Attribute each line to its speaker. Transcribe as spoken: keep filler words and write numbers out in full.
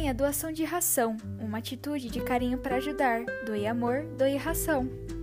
Speaker 1: Campanha Doação de Ração, uma atitude de carinho para ajudar. Doe amor, doe ração.